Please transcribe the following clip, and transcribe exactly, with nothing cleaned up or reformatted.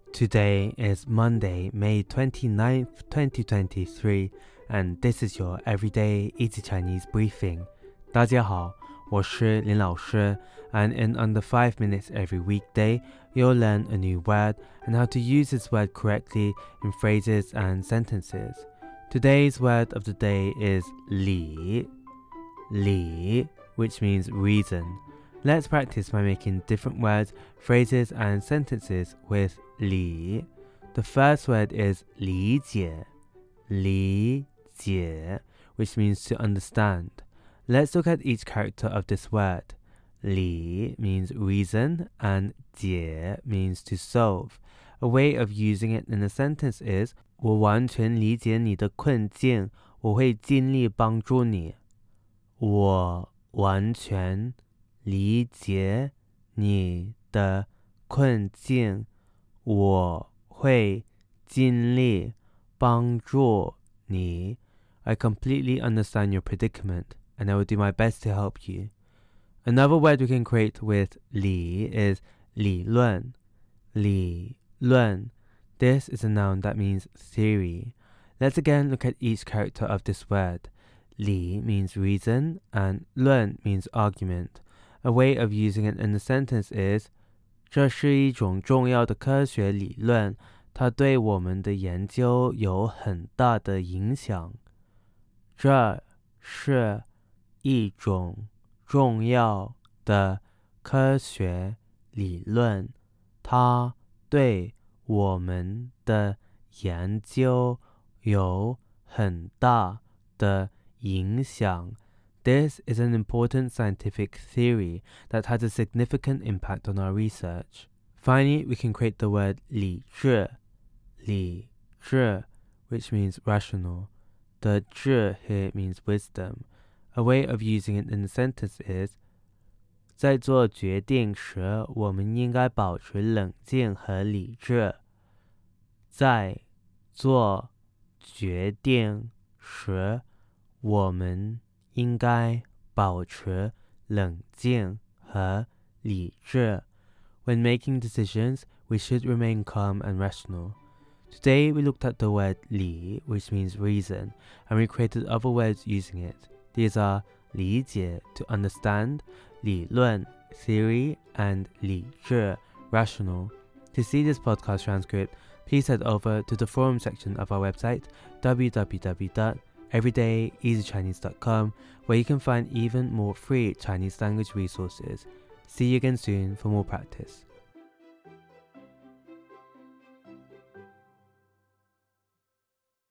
Today is Monday, May twenty-ninth, twenty twenty-three, and this is your Everyday Easy Chinese Briefing. 大家好，我是林老师, and in under five minutes every weekday, you'll learn a new word and how to use this word correctly in phrases and sentences. Today's word of the day is li, li, which means reason. Let's practice by making different words, phrases, and sentences with li. The first word is 理解, 理解, which means to understand. Let's look at each character of this word. 理 means reason and 解 means to solve. A way of using it in a sentence is 我完全理解你的困境，我会尽力帮助你。我完全理解你的困境，我会尽力帮助你。I completely understand your predicament, and I will do my best to help you. Another word we can create with 理 is 理论，理论. This is a noun that means theory. Let's again look at each character of this word. 理 means reason, and 论 means argument. A way of using it in a sentence is 这是一种重要的科学理论，它对我们的研究有很大的影响。这是一种重要的科学理论，它对我们的研究有很大的影响。This is an important scientific theory that has a significant impact on our research. Finally, we can create the word 理智, 理智, which means rational. The 智 here means wisdom. A way of using it in a sentence is 在做决定时，我们应该保持冷静和理智。在做决定时，我们应该保持冷静和理智。When making decisions, we should remain calm and rational. Today we looked at the word 理, which means reason, and we created other words using it. These are 理解 to understand, 理论 theory, and 理智 rational. To see this podcast transcript, please head over to the forum section of our website, w w w dot everyday easy chinese dot com, where you can find even more free Chinese language resources. See you again soon for more practice.